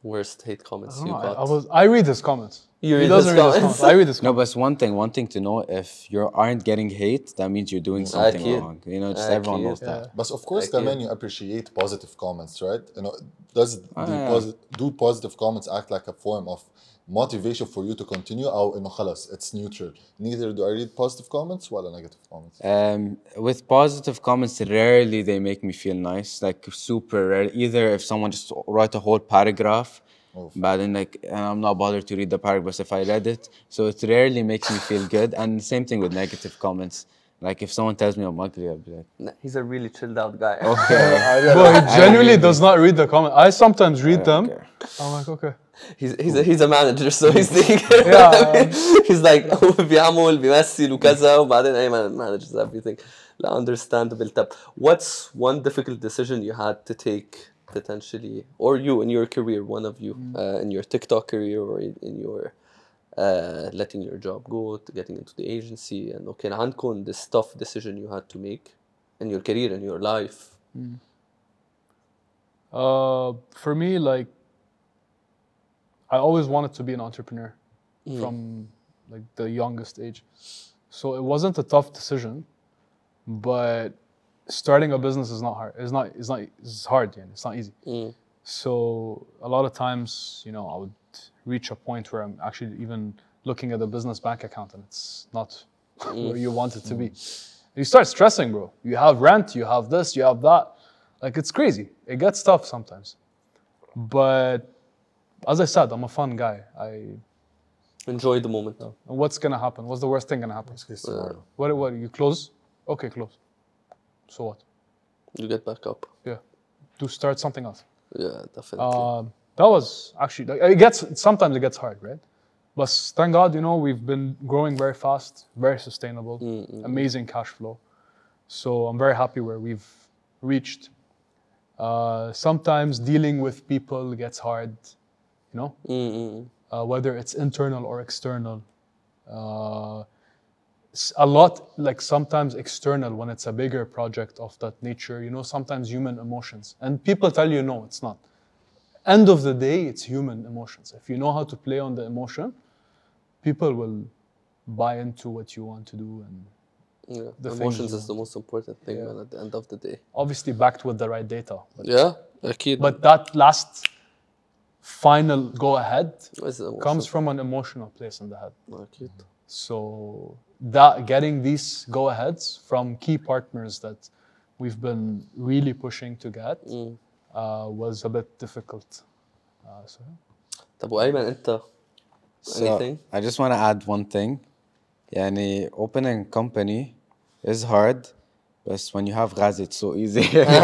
worst hate comments I, don't you know, I, got? I was. I read his comments. You he read doesn't his read his comments? comments. I read his No, comments. but one thing, one thing to know, if you aren't getting hate, that means you're doing something أكيد. wrong. You know, just everyone أكيد. knows that. But of course, Like, كمان yeah. you appreciate positive comments, right? You know, does the yeah. posi- do positive comments act like a form of motivation for you to continue? أو إنه خلاص it's neutral. Neither do I read positive comments ولا negative comments. Um, with positive comments, rarely they make me feel nice. Like super rare. Either if someone just write a whole paragraph, Oof. but then like and I'm not bothered to read the paragraph if I read it. So it rarely makes me feel good. And same thing with negative comments. Like if someone tells me I'm ugly, I'll be like, Nah, he's a really chilled out guy. okay. Bro, he I genuinely really- does not read the comments. I sometimes read I don't them. care. I'm like, okay. he's he's a, he's a manager, so he's thinking. Yeah. he's like هو بيعمل بيمثل وكذا وبعدين أيمن manages everything. لا, understandable. طب what's one difficult decision you had to take potentially, or you in your career, one of you, uh, in your TikTok career or in, in your uh, letting your job go, to getting into the agency, and okay, عندكم this tough decision you had to make in your career, in your life. Uh, for me, like, I always wanted to be an entrepreneur from like the youngest age. So it wasn't a tough decision, but starting a business is not hard. It's not. It's not. It's hard. Yeah, it's not easy. So a lot of times, you know, I would reach a point where I'm actually even looking at the business bank account and it's not where you want it to be. You start stressing, bro. You have rent. You have this. You have that. Like, it's crazy. It gets tough sometimes. But as I said, I'm a fun guy. I Enjoy the moment. what's gonna happen? What's the worst thing gonna happen? Worst case scenario. What? What? You close? Okay, close. So what? You get back up. Yeah. To start something else. Yeah, definitely. Um, that was actually like, it gets sometimes it gets hard, right? But thank God, you know, we've been growing very fast, very sustainable, amazing cash flow. So I'm very happy where we've reached. Uh, sometimes dealing with people gets hard, you know, Mm-mm. uh, whether it's internal or external. Uh, s- a lot, like sometimes external when it's a bigger project of that nature, you know, sometimes human emotions. And people tell you, no, it's not. End of the day, it's human emotions. If you know how to play on the emotion, people will buy into what you want to do. And Yeah. The things Emotions you is the most important thing, Yeah. man, at the end of the day. obviously backed with the right data. But, Yeah, أكيد. but that last final go ahead What's the comes emotion? from an emotional place in the head. أكيد. So that getting these go-aheads from key partners that we've been really pushing to get uh, was a bit difficult. Uh, so طب وأيمن أنت So anything? I just want to add one thing. يعني opening company is hard, but when you have Ghazi, it's so easy.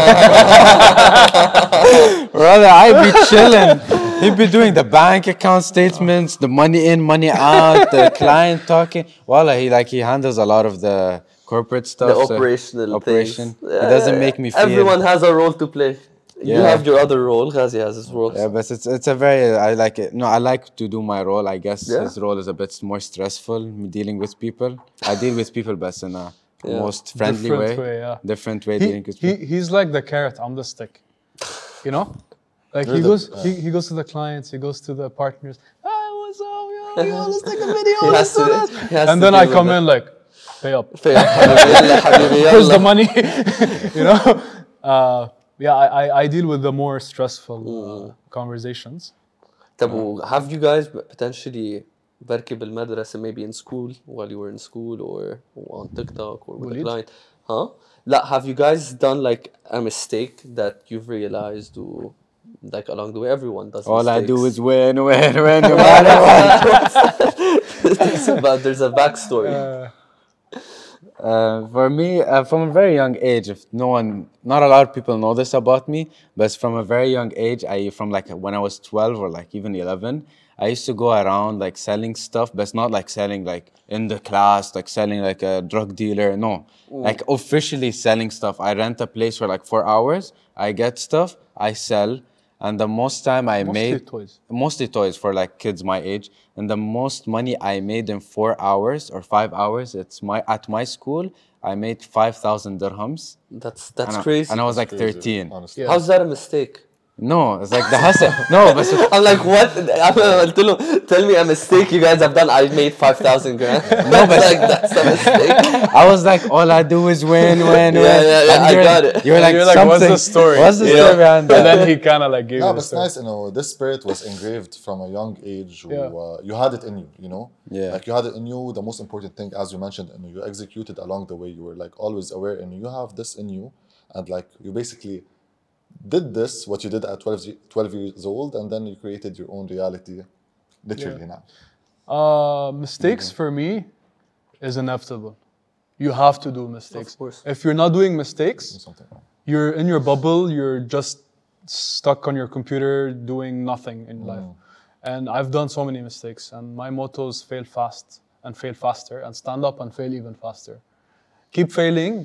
Brother, I be chilling. He be doing the bank account statements, the money in, money out, the client talking. Wallah, he like he handles a lot of the corporate stuff. The so- operational operation. things. It doesn't make me feel. Everyone has a role to play. You Yeah. have your other role. Ghazi has his role. Yeah, but it's it's a very I like it. No, I like to do my role. I guess Yeah. his role is a bit more stressful. Me dealing with people. I deal with people, but in a Yeah. most friendly Different way. way, yeah. Different way he, dealing with he, people. he's like the carrot, I'm the stick. You know? Like he You're the- goes he, he goes to the clients, he goes to the partners. Hey, what's up, yo, yo, let's take a video, He has let's do to- this. he has And to then I deal come with in like, pay up. فيا حبيبي يلا حبيبي Where's the يلا. money? You know? Uh, yeah, I, I, I deal with the more stressful uh, conversations. طب و- have you guys potentially بركي بالمدرسة maybe in school while you were in school or on TikTok or with a Bullied? client? Huh? لا, have you guys done like a mistake that you've realized or like along the way everyone does All I do mistakes. is win, win, win, no matter what. But there's a backstory. Uh, for me, uh, from a very young age, if no one, not a lot of people know this about me, but from a very young age, I from like when I was twelve or like even eleven, I used to go around like selling stuff, but it's not like selling like in the class, like selling like a drug dealer. No, like officially selling stuff. I rent a place for like four hours. I get stuff, I sell, and the most time I Mostly made toys. mostly toys for like kids my age, and the most money I made in four hours or five hours, it's my at my school, I made five thousand dirhams. That's that's and I, crazy. and I was like Crazy, thirteen. honestly. Yeah. How's that a mistake? No, it's like the hustle. No, but I'm like, what? I'm قلت له, tell me a mistake you guys have done. I made five thousand grand. No, but like, that's a mistake. I was like, all I do is win, win, win. Yeah, yeah, yeah, And I you're got like, it. You're like, You're like, what's something. the story? What's the Yeah. story behind And that? then he kind of like gave No, you but the it's story. nice, you know, this spirit was engraved from a young age. Who, Yeah. uh, you had it in you, you know? Yeah. Like you had it in you. The most important thing, as you mentioned, you, know, you executed along the way. You were like always aware, and you have this in you. And like you basically did this, what you did at twelve, twelve years old, and then you created your own reality, literally now. Uh, mistakes for me is inevitable. You have to do mistakes. Of course. If you're not doing mistakes, Something. you're in your bubble, you're just stuck on your computer doing nothing in life. And I've done so many mistakes, and my motto is fail fast and fail faster, and stand up and fail even faster. Keep failing,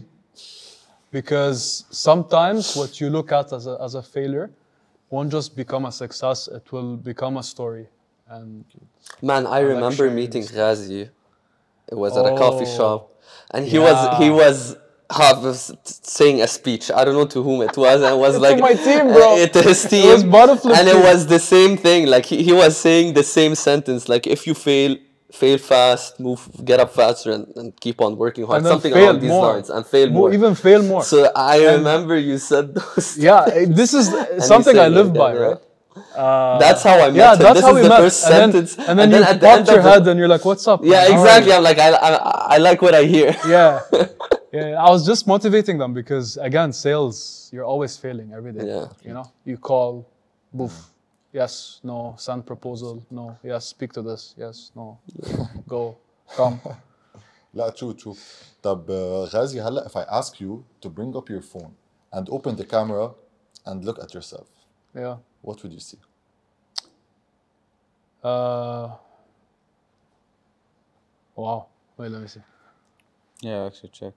because sometimes what you look at as a, as a failure won't just become a success, it will become a story. And Man, I remember sharing meeting this. Ghazi. It was at a coffee Oh, shop, and he yeah. was he was have, was saying a speech. I don't know to whom it was, and it was like my team, bro. uh, to his team, was Butterfly and team. it was the same thing. Like he, he was saying the same sentence. Like if you fail, fail fast, move, get up faster, and, and keep on working hard. and then Something fail along these more. lines, and fail Mo- more. Even fail more. So I And- remember you said those. Yeah, eh, this is and something you I said live like by, that, yeah. right? Uh, That's how I met yeah, him. that's This how is we the met. first and then, sentence, and then and then you at the popped end your of the- head and you're like, "What's up?" man? Yeah, How are exactly. you?" I'm like, I, I, I like what I hear. Yeah, yeah. I was just motivating them because again, sales, you're always failing every day. Yeah. You know, you call, boof, yes, no, send proposal, no, yes, speak to this, yes, no, go, come. لا true true. طب uh, Ghazi, هلا if I ask you to bring up your phone and open the camera and look at yourself, Yeah. what would you see? Uh. Wow. Wait, let me see. Yeah, actually check.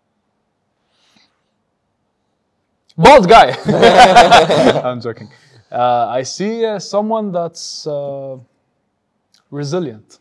Bald guy. I'm joking. Uh, I see uh, someone that's uh, resilient.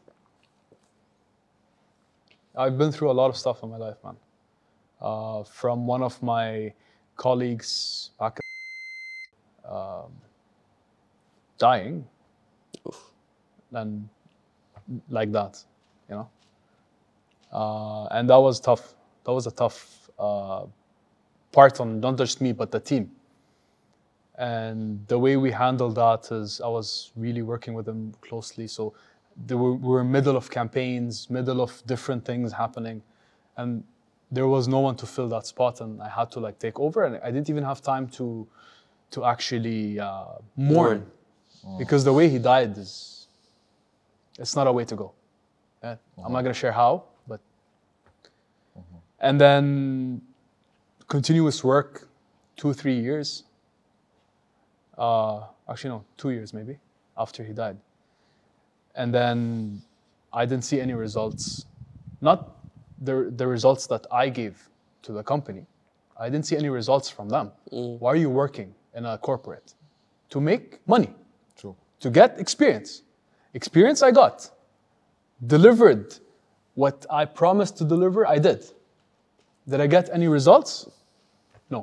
I've been through a lot of stuff in my life, man. Uh, from one of my colleagues back um, dying, and like that, you know. Uh, and that was tough. That was a tough uh, part on not just me, but the team. And the way we handled that is I was really working with them closely. So they were, we were middle of campaigns, middle of different things happening. And there was no one to fill that spot, and I had to like take over. And I didn't even have time to to actually uh, mourn, because the way he died is, it's not a way to go. Yeah? I'm not gonna share how, but. And then continuous work, two, three years. Uh, actually, no, two years maybe after he died. And then I didn't see any results, not the, the results that I gave to the company. I didn't see any results from them. Why are you working in a corporate? To make money, True. to get experience. Experience I got. Delivered what I promised to deliver, I did. Did I get any results? No.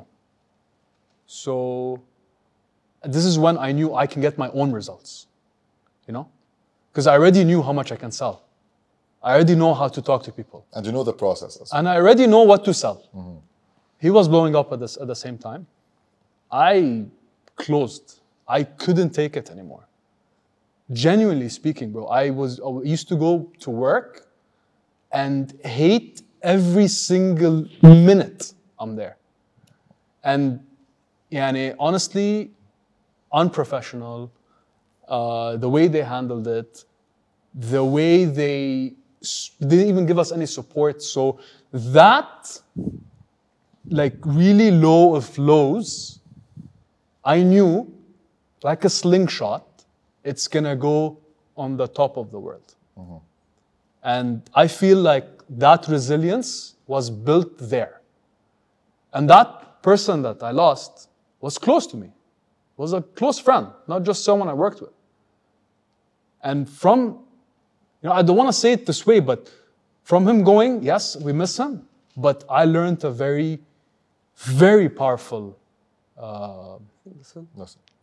So this is when I knew I can get my own results, you know? Because I already knew how much I can sell. I already know how to talk to people. And you know the process as well. And I already know what to sell. He was blowing up at, this, at the same time. I closed. I couldn't take it anymore. Genuinely speaking, bro, I was I used to go to work and hate every single minute I'm there. And yani, honestly, unprofessional, uh, the way they handled it, the way they s- didn't even give us any support. So that, like really low of lows, I knew, like a slingshot, it's gonna go on the top of the world. And I feel like that resilience was built there. And that person that I lost was close to me, was a close friend, not just someone I worked with. And from, you know, I don't want to say it this way, but from him going, yes, we miss him, but I learned a very, very powerful uh, Listen.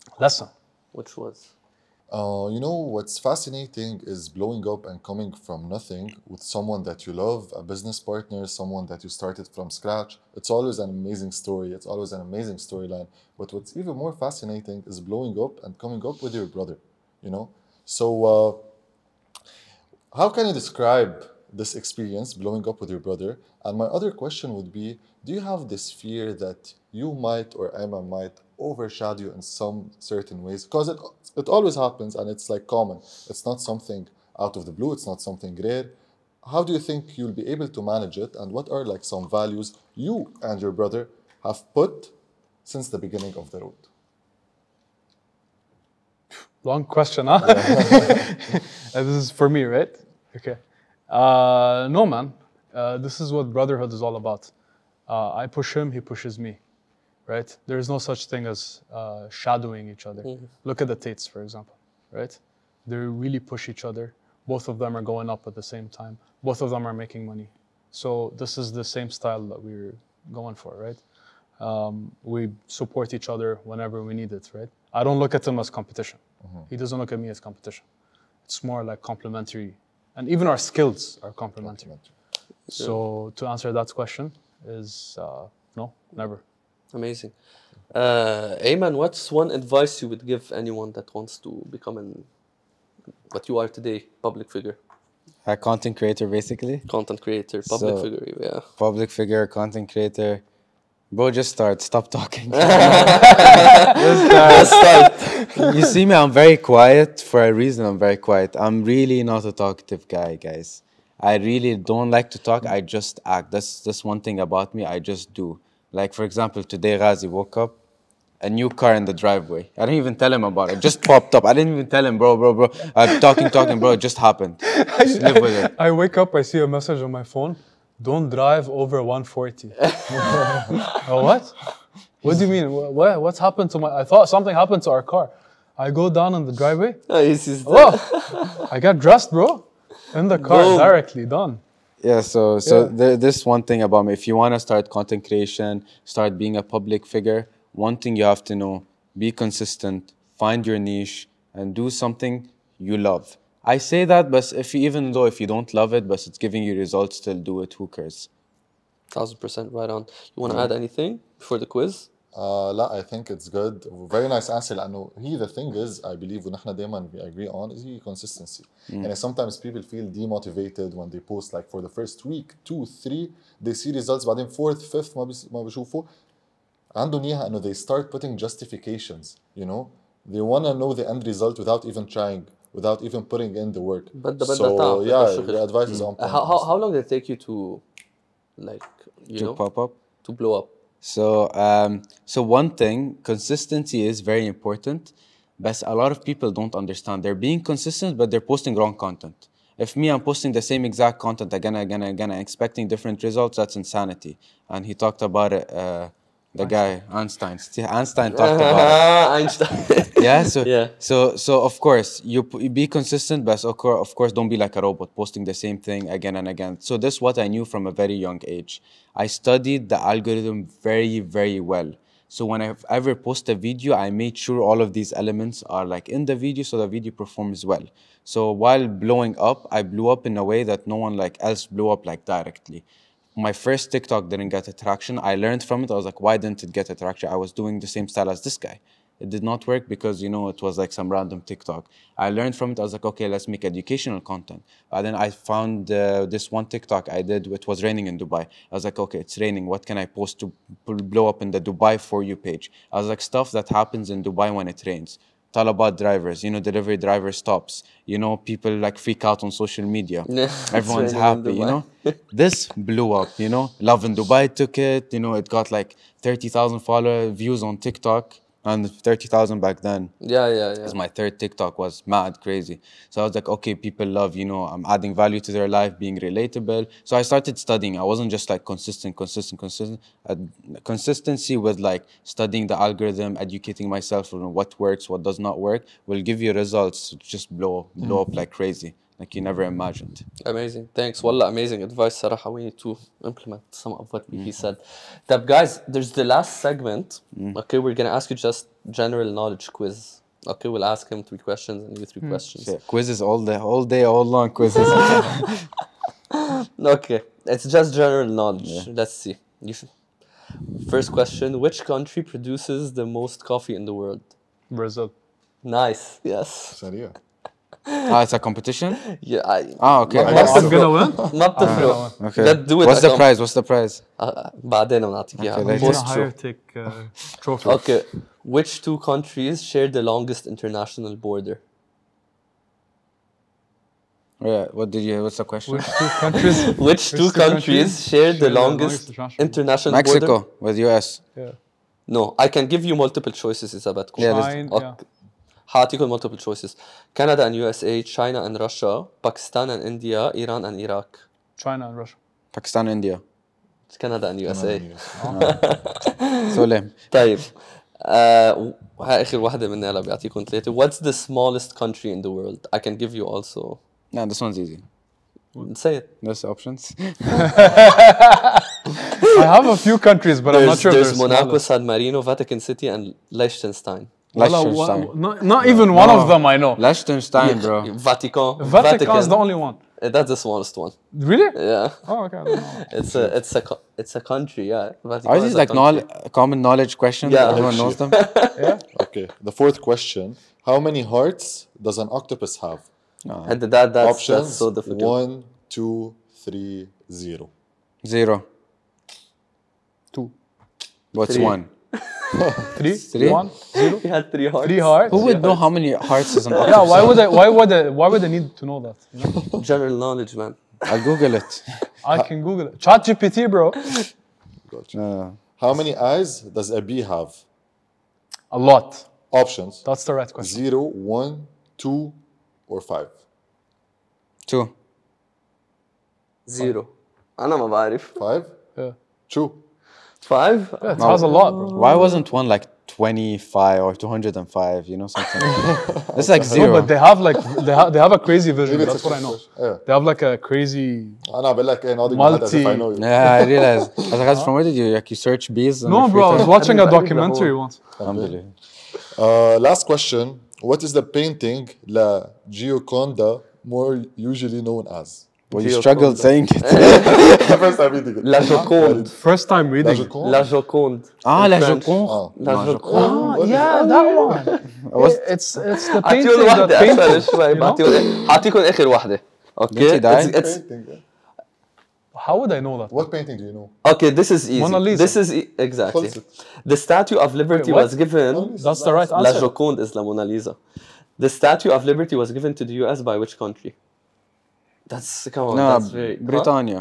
lesson. Which was Uh, you know, what's fascinating is blowing up and coming from nothing with someone that you love, a business partner, someone that you started from scratch. It's always an amazing story. It's always an amazing storyline. But what's even more fascinating is blowing up and coming up with your brother, you know? So, uh, how can you describe this experience, blowing up with your brother? And my other question would be, do you have this fear that you might or Ayman might overshadow you in some certain ways? Because it, it always happens and it's like common. It's not something out of the blue, it's not something rare. How do you think you'll be able to manage it? And what are like some values you and your brother have put since the beginning of the road? Long question, huh? Uh, this is for me, right? Okay. Uh, no, man. Uh, this is what brotherhood is all about. Uh, I push him, he pushes me, right? There is no such thing as uh, shadowing each other. Look at the Tates, for example, right? They really push each other. Both of them are going up at the same time. Both of them are making money. So this is the same style that we're going for, right? Um, we support each other whenever we need it, right? I don't look at him as competition. He doesn't look at me as competition. It's more like complementary. And even our skills are complementary. So to answer that question is uh, no, never. amazing. Uh, Ayman, what's one advice you would give anyone that wants to become an what you are today, public figure, A content creator, basically. content creator, public So- figure? Yeah. Public figure, content creator. Bro, just start. Stop talking. Let's start. You see me, I'm very quiet for a reason. I'm very quiet. I'm really not a talkative guy, guys. I really don't like to talk. I just act. That's that's one thing about me. I just do. Like, for example, today Ghazi woke up, a new car in the driveway. I didn't even tell him about it. It just popped up. I didn't even tell him, bro, bro, bro. I'm talking, talking, bro. It just happened. Just live with it. I wake up, I see a message on my phone. Don't drive over one forty. Oh, what? What do you mean? Wha- What, what's happened to my... I thought something happened to our car. I go down in the driveway. Oh, this is the- Oh, I got dressed, bro. In the car, Boom. directly, done. Yeah, so so Yeah. there, this one thing about me. If you want to start content creation, start being a public figure, one thing you have to know, be consistent, find your niche, and do something you love. I say that, but if you, even though if you don't love it, but it's giving you results, still do it. Who cares? Thousand percent right on. You want to add anything before the quiz? Uh, لا, I think it's good. Very nice answer. لأنه he the thing is, I believe ونحن دايما we agree on is he consistency. And sometimes people feel demotivated when they post like for the first week, two, three, they see results. بعدين fourth, fifth ما بيس- ما بيشوفوا. عندهم إياها إنه they start putting justifications. You know, they wanna know the end result without even trying, without even putting in the work. بدها بدها So تعب، بدها yeah, شغل. your advice is on Uh, point. how, how, how long did it take you to, like, you To know, pop up. to blow up? So, um, so one thing, consistency is very important, but a lot of people don't understand. They're being consistent, but they're posting wrong content. If me, I'm posting the same exact content again and again and again, and expecting different results, that's insanity. And he talked about it, uh, the guy, Einstein. See, Einstein talked about it. Einstein. Yeah, so Yeah. so so of course you, p- you be consistent, but of course, of course don't be like a robot posting the same thing again and again. So this is what I knew from a very young age. I studied the algorithm very very well. So when I ever post a video, I made sure all of these elements are like in the video, so the video performs well. So while blowing up, I blew up in a way that no one like else blew up like directly. My first TikTok didn't get attraction. I learned from it. I was like, why didn't it get attraction? I was doing the same style as this guy. It did not work because, you know, it was like some random TikTok. I learned from it. I was like, okay, let's make educational content. And then I found uh, this one TikTok I did. It was raining in Dubai. I was like, okay, it's raining. What can I post to b- blow up in the Dubai For You page? I was like, stuff that happens in Dubai when it rains. Talabat drivers, you know, delivery driver stops. You know, people like freak out on social media. Yeah, it's Everyone's raining in happy, you Dubai. know. This blew up, you know. Love in Dubai took it, you know. It got like thirty thousand follower views on TikTok, and thirty thousand back then. Yeah, yeah, yeah. Because my third TikTok was mad crazy. So I was like, okay, people love, you know, I'm adding value to their life, being relatable. So I started studying. I wasn't just like consistent, consistent, consistent. Uh, consistency with like studying the algorithm, educating myself on what works, what does not work, will give you results to just blow, blow up like crazy, like you never imagined. Amazing. Thanks. Wallah, amazing advice, Sarah. We need to implement some of what he said. Tab, guys, there's the last segment. Okay, we're going to ask you just general knowledge quiz. Okay, we'll ask him three questions and you three questions. Shit, quizzes all day, all day, all long quizzes. Okay, it's just general knowledge. Let's see. You should... First question: which country produces the most coffee in the world? Brazil. Nice. Yes. سريع. ah, it's a competition. Yeah. I, Ah, okay. ما- I ما guess. I'm gonna win. ما بتفرق. Okay. Let's do it What's the again. prize? What's the prize? آه، بعدين بنعطيك Okay, اياها. let's- Most Most higher true. take uh, trophy. Okay. Which two countries share the longest international border? Yeah. What did you? What's the question? Which two countries? Which two two countries countries share the share the longest longest international international Mexico border? with U S. Yeah. No, I can give you multiple choices إذا بدكم. Yeah, let's- China. Okay. Yeah. حاعطيكم multiple choices. Canada and U S A, China and Russia, Pakistan and India, Iran and Iraq. China and Russia. Pakistan, India. Canada and U S A. So lame. طيب. آه، هاي آخر واحدة مني هلا بيعطيكم ثلاثة. What's the smallest country in the world? I can give you also. No, this one's easy. Say it. There's options. I have a few countries, but I'm not There's, sure if there's they're Monaco, smallest. San Marino, Vatican City, and Liechtenstein. Well, uh, Liechtenstein. wha- not, not even one of them I know. Liechtenstein, bro. Vatican. Vatican is the only one. Uh, That's the smallest one. Really? Yeah. Oh, okay. I don't know. It's a it's a co- it's a country. Yeah. Vatican Are is these a like country. knowl- common knowledge questions? Yeah. Everyone knows them. Okay. The fourth question: how many hearts does an octopus have? And that that's, Options: that's so difficult. one, two, three, zero. Zero. Two. What's Three. one? Three? Three? One? Zero? He had three hearts. Three hearts? Who would know how many hearts is an octopus? Yeah, why would I why would I why would I need to know that? You know? General knowledge, man. I'll Google it. I can Google it. Chat G P T, bro. Uh, How many eyes does a bee have? A lot. Options: That's the right question. zero, one, two, or five. two. Zero. أنا ما بعرف. Five. Yeah. True. Five. Yeah, it has a lot, bro. Why wasn't one like twenty-five or two hundred five? You know, something. It's like No, zero. but they have like they have they have a crazy vision. Maybe it's That's a what I know. Yeah. They have like a crazy. أنا بقول لك إيه ناضي من هذا as if I Multi- know you. Yeah, I realized. I was like, guys, from where did you like you search bees? on No, your bro. I free was time? watching a I read the documentary whole- once. Alhamdulillah. Uh, last question: what is the painting La Gioconda more usually known as? Well, you Gioconda. struggled saying it. First time reading it. La Joconde. First time La reading. Joconde. La Joconde. ah, In la French. Joconde. Ah. La Joconde. Oh, yeah, that one. Was- It's it's the painting أعطيهم that واحدة painted. أسهل شوي. you know? بعطيهم أعطيكم آخر واحدة. Okay. Did he die? It's, it's, Painting, yeah. How would I know that? What painting do you know? okay, this is easy. Mona Lisa. This is e- exactly. Close it. The Statue of Liberty Wait, what? was given. That's the right La answer. Joconde is La Mona Lisa. The Statue of Liberty was given to the U S by which country? That's come on. No, that's very Britannia.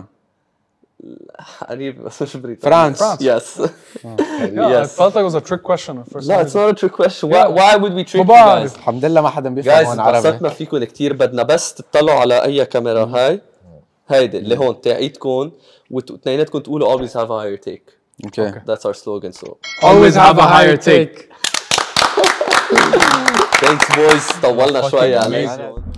قريب بس مش بريطانيا. France. France. Yes. Yeah, I Yes. felt like it was a trick question at first. No, it's not a trick question. Why, Yeah. why would we trick you طبعاً. guys? الحمد لله ما حدا بيفهم جايز هون عربي. انبسطنا فيكم كتير. بدنا بس تطلعوا على اي كاميرا هاي هيدي اللي هون تاعيتكم واثنيناتكم تقولوا always have a higher take. Okay. That's our slogan. So Always have a higher take. thanks boys. طولنا Fucking شوي amazing. عليكم.